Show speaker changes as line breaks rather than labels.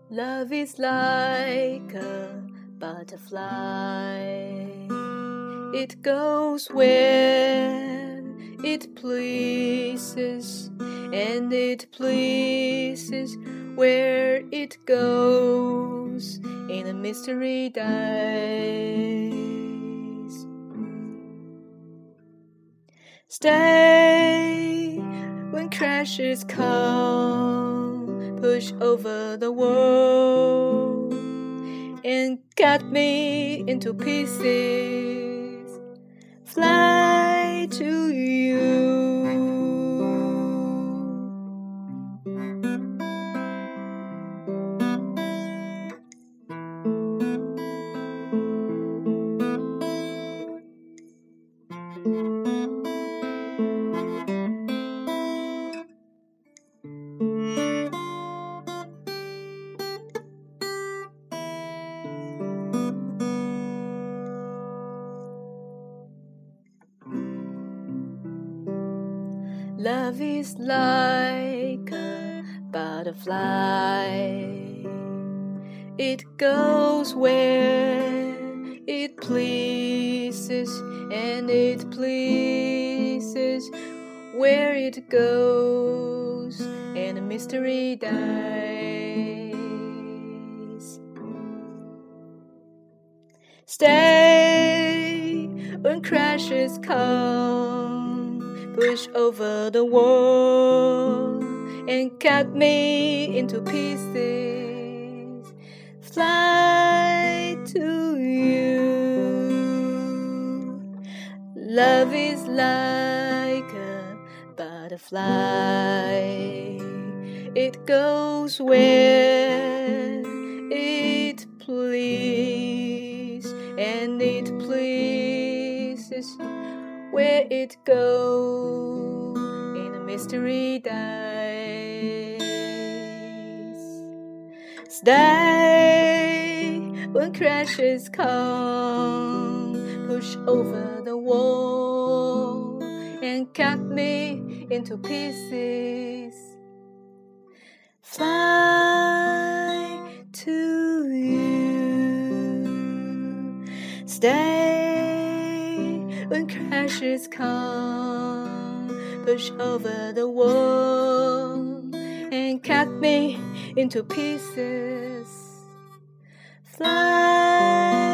Love is like a butterfly. It goes where it pleases, and it pleases where it goes in a mystery dies. Stay when crashes come, push over the wall and cut me into pieces, fly to you. Love is like a butterfly. It goes where it pleases, and it pleases where it goes, and a mystery dies. Stay when crashes come, push over the wall and cut me into pieces, fly to you. Love is like a butterfly. It goes where it pleases, and it pleases where it goes in a mystery dies. Stay when crashes come, push over the wall and cut me into pieces, fly to you. Stay when crashes come, push over the wall and cut me into pieces, fly